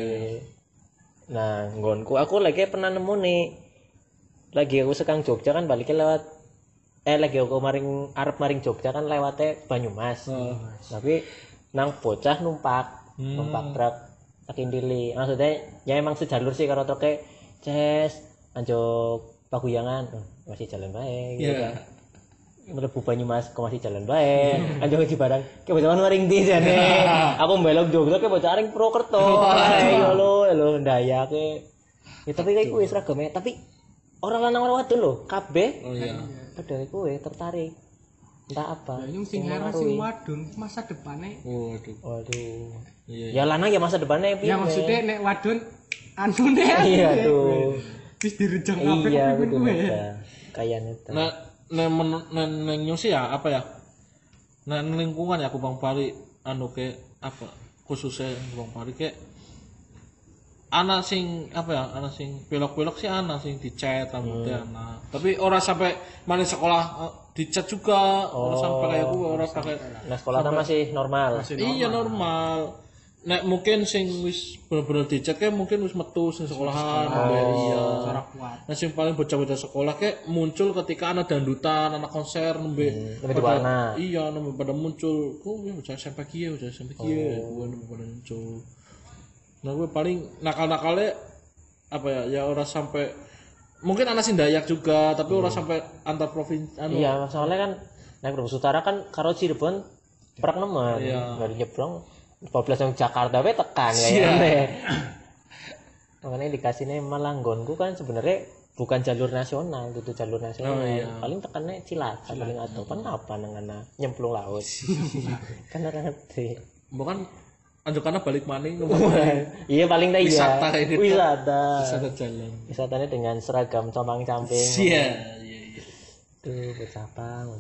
Nah nggonku aku lagi pernah nemu nih. Lagi aku sekang Jogja kan baliknya lewat lagi aku arep maring Jogja kan lewatnya Banyumas. Tapi nang bocah numpak truk tak indili. Maksudnya ya emang sejalur sih karo truknya Ces anjuk Paguyangan masih jalan baik gitu kan. Mlebu Banyumas kok masih jalan baik. Anjuk di barang ke bocah maring ndi jane. Aku mbelok Jogja ke bocah ring Purwokerto. Ayo lo ndayake. Ya tapi kayak kuwi seragame tapi orang lanang orang wadon lho, kabeh. Oh iya. Padahal kuwi tertarik. Entah apa. Ya sing heran sing wadon masa depane. Waduh. Iya. Ya lanang ya masa depannya piye? Ya maksudnya nek wadon anune iya tuh. wis direjeng kabeh Iya kuping betul kuwe. kayaknya itu. Neng nyusi ya apa ya? Nah lingkungan ya aku Bang Pari anu ke apa khususnya Bang Pari ke anak sing apa ya anak sing pelok-pelok sih anak sing dicet rambutnya anak tapi orang sampai mana sekolah dicet juga orang sampai kayak gue orang pakai Nah sekolah masih normal. iya normal nek mungkin sing wis bener-bener dicet kayak mungkin wis metu sing sekolahan iya Cara kuat. nah sing paling bocah-bocah sekolah kayak muncul ketika anak dangdutan anak konser nembe Lebih warna. iya nembe pada muncul ya bocah SMP kieu bocah SMP kieu gue nembe pada muncul. Nah gue paling nakal-nakalnya apa ya orang sampai mungkin anak sing Dayak juga tapi orang sampai antar provinsi anu. Iya soalnya kan naik Brebes Utara kan karo Cirebon perak nemen. Dari nyebrang 12 yang Jakarta we tekan kayaknya. Makanya dikasihnya malah nggonku kan sebenarnya bukan jalur nasional, itu jalur nasional. Paling tekannya Cilacap paling atau apa nang nyemplung laut. Kan ora ngerti. Bukan anjukannya balik maning Iya paling dah iya. Wisata ini. Wisata jalan. Wisatanya dengan seragam compang-camping. Iya. Tuh bercabang.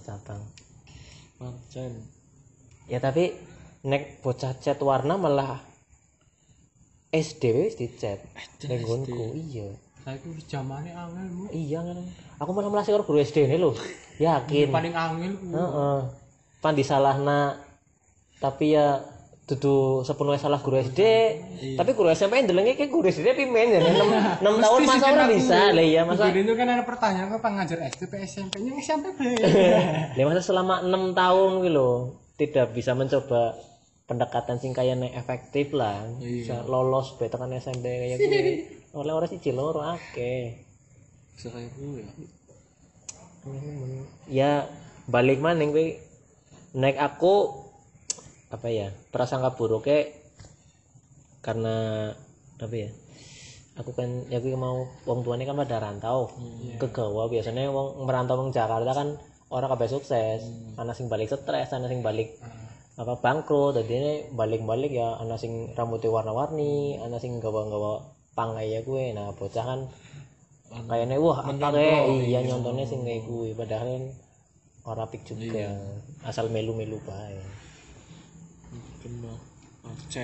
Pancen. Ya tapi nek bocah cat warna malah SD wis dicat. Nek nggonku iya. Saiki wis zamane angel mu. Iya kan. Aku malah melasi karo guru SD ini lho. Yakin. Paling angel ku. Heeh. Pan disalahna tapi ya dudu sepenuhnya salah guru SD, tapi guru SMP ndelenge kayak guru SD pimen ya 6 tahun masa ora bisa lah ya masa. Jadi itu kan ada pertanyaan apa ngajar SD pe SMP-nya SMP be. Lah masa selama 6 tahun gitu loh tidak bisa mencoba pendekatan sing kayaknya efektif lah. Bisa lolos be tekan SMP kayak gue. Oleh ora siji loro akeh. Bisa kayak gue ya. Ya balik maning kowe nek aku apa ya prasangka buruknya karena apa ya aku kan ya aku mau wong tuane kan pada rantau ke Jawa biasanya wong merantau wong Jakarta kan orang kabeh sukses ana sing balik stres ana sing balik apa bangkrut dadi ini balik-balik ya ana sing rambutnya warna-warni ana sing gawa-gawa pang kayak gue nah bocah kan kayaknya wah apa kayak iya nyontonnya sing kayak gue padahal ora pik juga asal melu-melu bae. Kena Cen.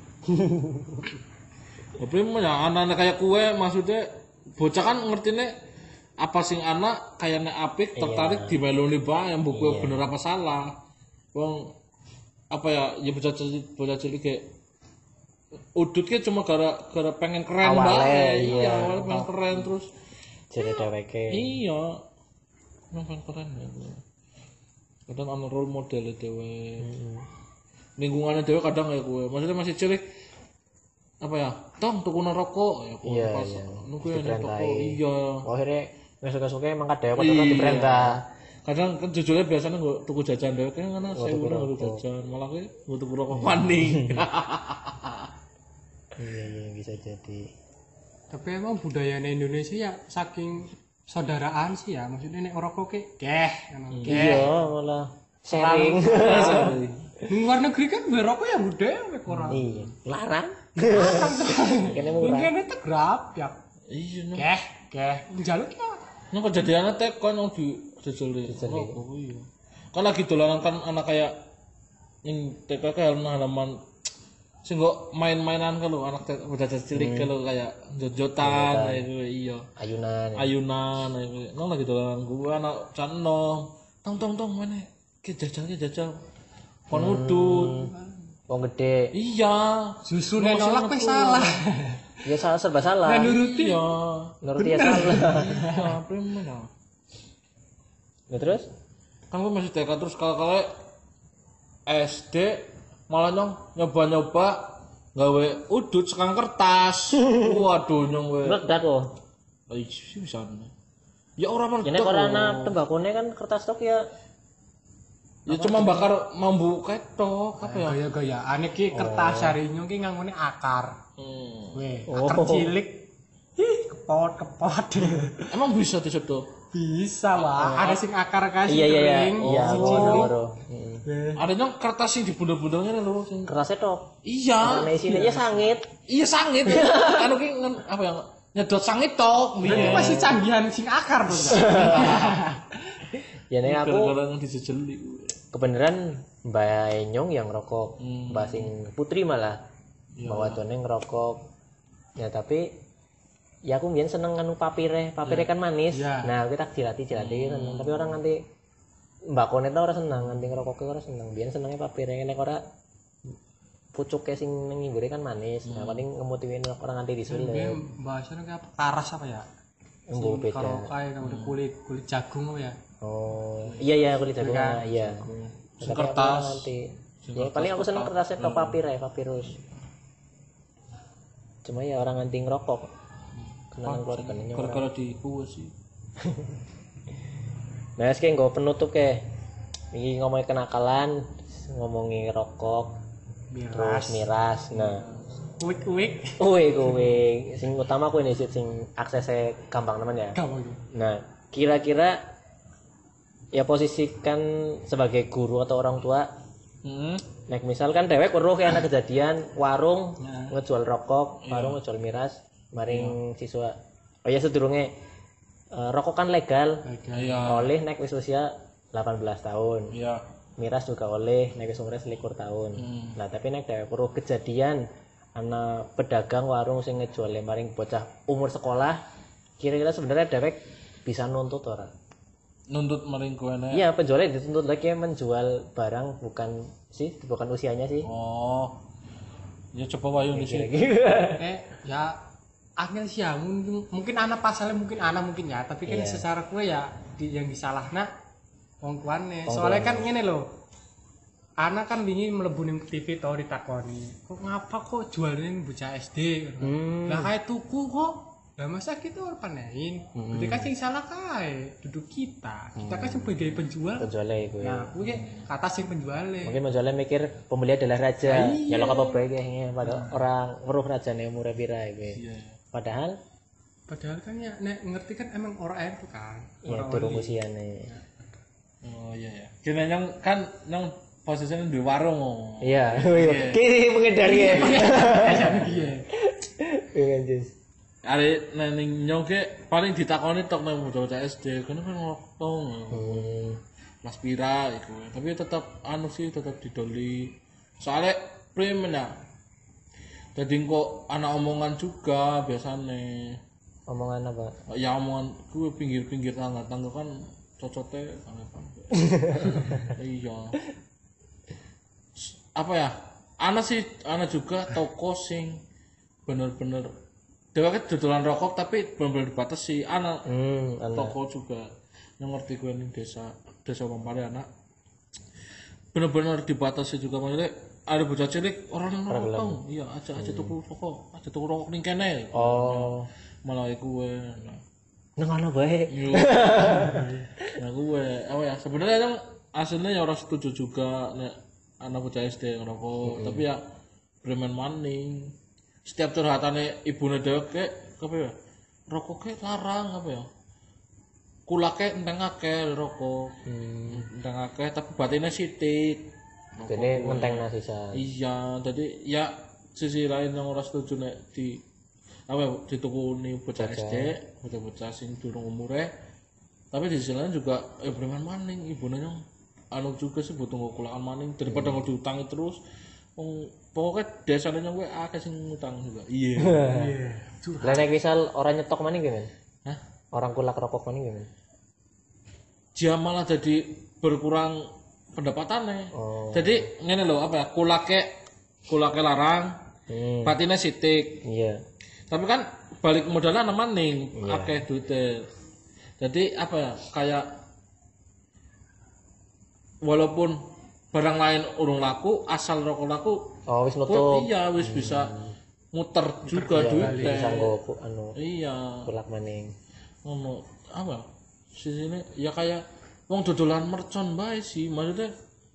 Tapi ya anak-anak kayak kue maksudnya bocah kan ngertine apa sing anak kayaknya apik tertarik di meloni bae yang buku bener apa salah. Wong apa ya bocah cilik kayak udut kayak cuma gara pengen keren bae. Iya, awalnya pengen keren terus jadi dheweke. Iya. Pengen keren ya. Kadang ana role model dhewe. Lingkungannya dewe kadang ya gue maksudnya masih cilik apa ya tong tuku rokok ya iya, pas nunggu ya toko iya akhirnya nggak suka emang kadang padahal diperintah kadang kan jujurnya biasanya gue tuku jajan dewe kan karena saya udah nggak jajan malah gue tuku rokok maning iya bisa jadi tapi emang budaya Indonesia ya saking saudaraan sih ya maksudnya nek rokok iya malah sharing luar negeri kan berokok ya budaya mek ora iya larang kene murah kene tegrap ya iya njaluk ya nah kejadiannya tekon yang dijeli rokok iya kan lagi dolanan kan anak kayak yang TK kayak halaman sing kok main-mainan kalau anak udah cilik kalau kayak jot-jotan itu iya ayunan itu nang lagi dolanan gua anak cano tong mana ke jajal kon ngudut. Wong gede. Iya. Justru nek nolak kowe salah. Ya salah serba salah. Nek nuruti Iya. Nuruti ya salah. Iya, premen ya. Ya terus? Kan gue masih TK terus kalau SD malah nyoba gawe udut sekang kertas. Waduh nyong we. Meledak kok. Sih bisa. Ya orang Ya meledak. nek ora ana tembakone kan kertas tok ya. Ya cuma bakar mambu ketok apa ya? gaya-gayaan iki kertas harinyo ki nganggone akar. Weh, Oh. akar cilik. Ih, kepot. Emang bisa disedot? Bisa, Wak. Ada sing akar kasih Iya. kering, Iya, si cilik. baru. Ada nyong kertas sing dibundel-bundel ngene lho sing. Kerasnya tok. Iya. Karena isinya ya sangit. Iya sangit. Anu ki apa ya? Nyedot sangit tok. Berarti masih canggihan sing akar tuh. Ya nek aku Gara-gara disejeli. kebenaran Mbak Enyong yang ngerokok, Mbak sing Putri malah bawa tuane ngerokok. Ya tapi ya aku mbiyen seneng anu papire kan manis. Ya. Nah, kita jilati seneng. Tapi orang nganti Mbak Kone ta ora seneng, nganti ngerokoknya ora seneng. Mbiyen senenge papire nek ora pucuke sing ning nggore kan manis. Nah, paling ngemutiwin orang nganti disulek. Bahasanya kayak apa? Taras apa ya? Embo beda. Karokai kayak kulit jagung apa ya? Oh, iya kulit jagung. Kan? Iya. Sing Tapi aku kertas. nanti. Ya paling aku seneng kertasnya tok papirus. Cuma ya orang nganti ngerokok. Kenalan keluarganya orang. Gara-gara di kuwe sih. Nah, sekarang gue penutup ke. Ini ngomongin kenakalan, ngomongin rokok, terus miras. Nah, Uik. sing utama aku ini sih, sing aksesnya gampang teman ya. Gampang. Nah, kira-kira ya posisikan sebagai guru atau orang tua. Nek misalkan dewek weruh kayak anak kejadian warung ngejual rokok, warung ngejual miras, maring siswa. Oh ya sedurunge rokok kan legal. Iya. Oleh nek wis usia 18 tahun. Iya. Miras juga oleh nek wis umur 21 tahun. Nah, tapi nek dewek weruh kejadian ana pedagang warung sing ngejual maring bocah umur sekolah, kira-kira sebenarnya dewek bisa nuntut ora? Nuntut maring kuene. Iya, penjualnya dituntut lagi menjual barang bukan usianya sih. Oh. Ya coba wayung di sini. Ya angel sih ya mungkin anak pasalnya mungkin ya tapi kan secara kue ya yang disalahna wong tuane soalnya kan ngene lho anak kan wingi mlebu ning TV to ditakoni kok ngapa kok jualin bocah SD lah kayak tuku kok lah masa kita orang panein berarti kan sing salah kae duduk kita kan sebagai penjual Itu. nah kuwi kata sing penjualnya Mungkin penjualnya mikir pembeli adalah raja. Ya lo apa baik ya padahal orang weruh rajane umure pira iki. Padahal kan ya nek ngerti kan emang orang itu kan ya durung usiane. Oh iya. Kene yang kan yang posisinya di warung. Iya. Kiri menghindari ya. Iya. Jus. Are ning nyongke paling ditakoni tok nang bocah SD, kene kan ngokong. Mas pira iku. Tapi tetap anu sih tetap didoli. Soalnya premen ya. Jadi kok anak omongan juga biasanya. Omongan apa? Ya omongan gue pinggir-pinggir tangga-tangga kan cocote apa. Iya. Apa ya? Ana juga toko sing bener-bener dheweke dodolan rokok tapi bener-bener dibatasi. Ana toko juga yang ngerti gue ning desa Pampare anak. Bener-bener dibatasi juga maksudnya ada bocah cilik orang yang rokok. Iya, aja tuku rokok ning kene. Oh. Malah gue. Nang ana bae. Nah gue apa ya sebenarnya yang aslinya ya orang setuju juga nek anak bocah SD ngerokok tapi ya bremen maning setiap curhatannya ibune dhewe apa ya rokoknya larang apa ya kulake enteng akeh rokok enteng akeh tapi batinnya sithik Jadi menteng sisa. iya jadi ya sisi lain yang orang setuju nek di apa ya ditukuni bocah SD bocah sing durung umure tapi di sisi lain juga bremen maning ibune yang anu juga sih butuh ngukulakan maning daripada nggak diutangi terus pokoknya desanya gue akeh sing ngutang juga iya Lah nek misal orang nyetok maning gimana? Hah? Orang kulak rokok maning gimana? dia malah jadi berkurang pendapatannya. Oh. Jadi ngene lho apa ya? Kulake larang, batine sitik. Iya. Tapi kan balik modalnya nang maning, akeh duite. Jadi apa ya? Kayak walaupun barang lain urung laku, asal rokok laku, Oh, wis kok nutup. iya wis bisa muter juga duitnya. Bisa nggo anu Iya. kulak maning. Ngono apa? Sisine ya kayak wong dodolan mercon bae sih, maksudnya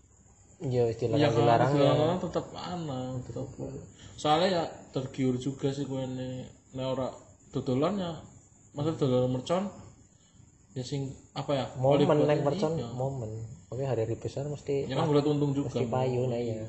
Iya, wis ya dilarang ya. kan tetep ana, tetep. Soalnya ya tergiur juga sih gue nih, ora dodolan ya, maksud dodolan mercon ya sing apa ya? Momen nek mercon iya. momen. Oke, hari besar mesti Ya kan boleh untung juga. mesti payu nah ya.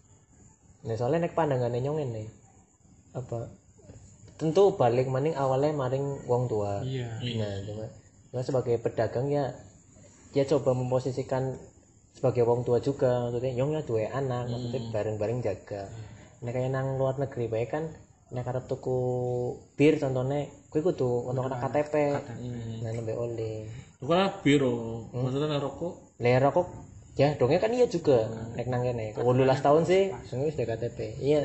Nah, soalnya nek pandangane nyong ngene. Apa? Tentu balik maning awalnya maring wong tua. Iya. Nah, cuma sebagai pedagang ya dia coba memposisikan sebagai wong tua juga, maksudnya nyong ya duwe anak, maksudnya bareng-bareng jaga. Nek kayak nang luar negeri bae kan nek arep tuku bir contohnya kuwi kudu ono KTP. Nah, nembe oleh. Bukan biro, maksudnya rokok. Lera kok ya dongnya kan iya juga nek nang kene. 18 tahun sih, wis KTP. Iya.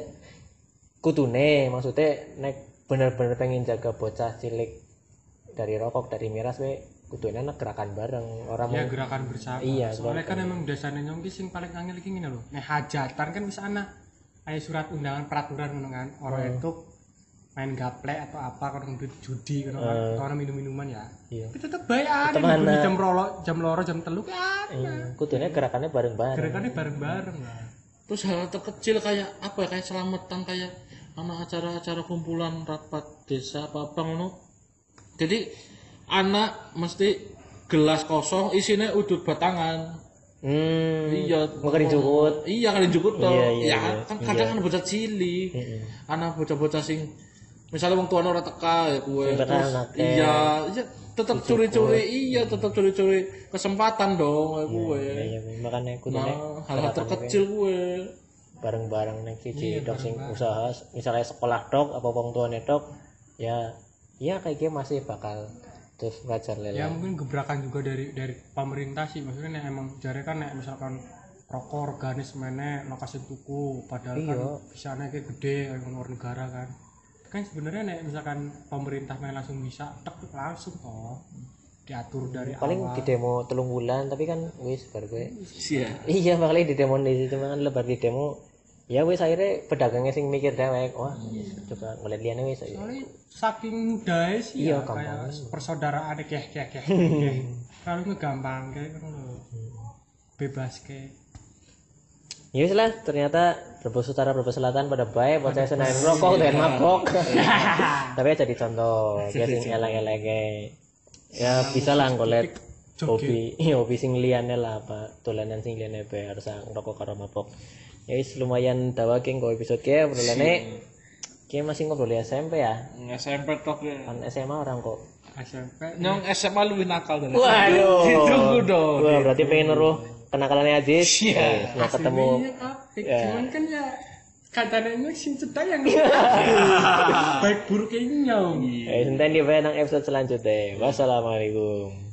Kudune maksudnya nek bener-bener pengen jaga bocah cilik dari rokok, dari miras we kudune nek gerakan bareng orang Ya gerakan bersama. Iya, Soalnya kan emang dasarnya nyong ki sing paling angel iki ngene lho. Nek hajatan kan wis ana aya surat undangan peraturan ngono kan. Orang itu main gaplek atau apa kalau duit judi kan orang minum-minuman ya. Iya. Tapi tetep bayar jam loro jam 3 kan. Kudune gerakannya bareng-bareng. Gerakannya bareng-bareng lah. Terus hal terkecil kayak apa ya, kayak selamatan, kayak anak acara-acara kumpulan rapat desa apa ngono. Jadi anak mesti gelas kosong isinya udut batangan. Iya, Makarin jukut. Iya, kalian jukut toh. Iya, Ya kan kadang kan bocah cilik. Anak bocah-bocah sing misalnya wong tuane ora teka ya kuwe. Iya, tetep curi-curi, tetep curi-curi kesempatan dong ya kuwe. Iya, makanya kudune Hal-hal terkecil kuwe. bareng-bareng nek siji dok sing usaha misalnya sekolah dok apa wong tuane dok ya kayak gitu masih bakal terus ngajar lele. Ya mungkin gebrakan juga dari pemerintah sih, maksudnya nek emang jare kan nek misalkan rokok organis meneh lokasi tuku padahal kan bisa nek gede kayak luar negara kan sebenarnya nek misalkan pemerintah main langsung bisa tek langsung toh diatur dari paling awal. di demo 3 bulan tapi kan wis bar gue Iya. bakal di demo di situ kan lebar di demo ya wis akhirnya pedagangnya sing mikir dewek wah coba ngeliat liane wis Soalnya saking mudahnya sih Iya, ya gampang. kayak persaudaraan kayak kalau gampang kayak bebas kayak ya wis lah ternyata Brebes Utara Brebes Selatan pada baik buat saya senang rokok dan mabok tapi aja dicontoh kayak sing elek-elek ya bisa lah ngolet hobi sing liyane lah apa dolanan sing liyane bae harus ngerokok karo mabok ya wis lumayan dawaking kok episode ke obrolannya kayak masih ngobrol di SMP ya SMP tok ya. kan SMA orang kok SMP Nyong SMA lebih nakal dari waduh Ditunggu dong. wah berarti pengen neruh kenakalannya Aziz nah ketemu cuman kan ya katanya sing cedak yang baik buruk ini nyong senten di nang episode selanjutnya wassalamualaikum